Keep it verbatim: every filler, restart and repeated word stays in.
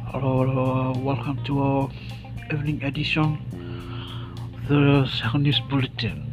Hello, hello, welcome to our evening edition of the second news bulletin.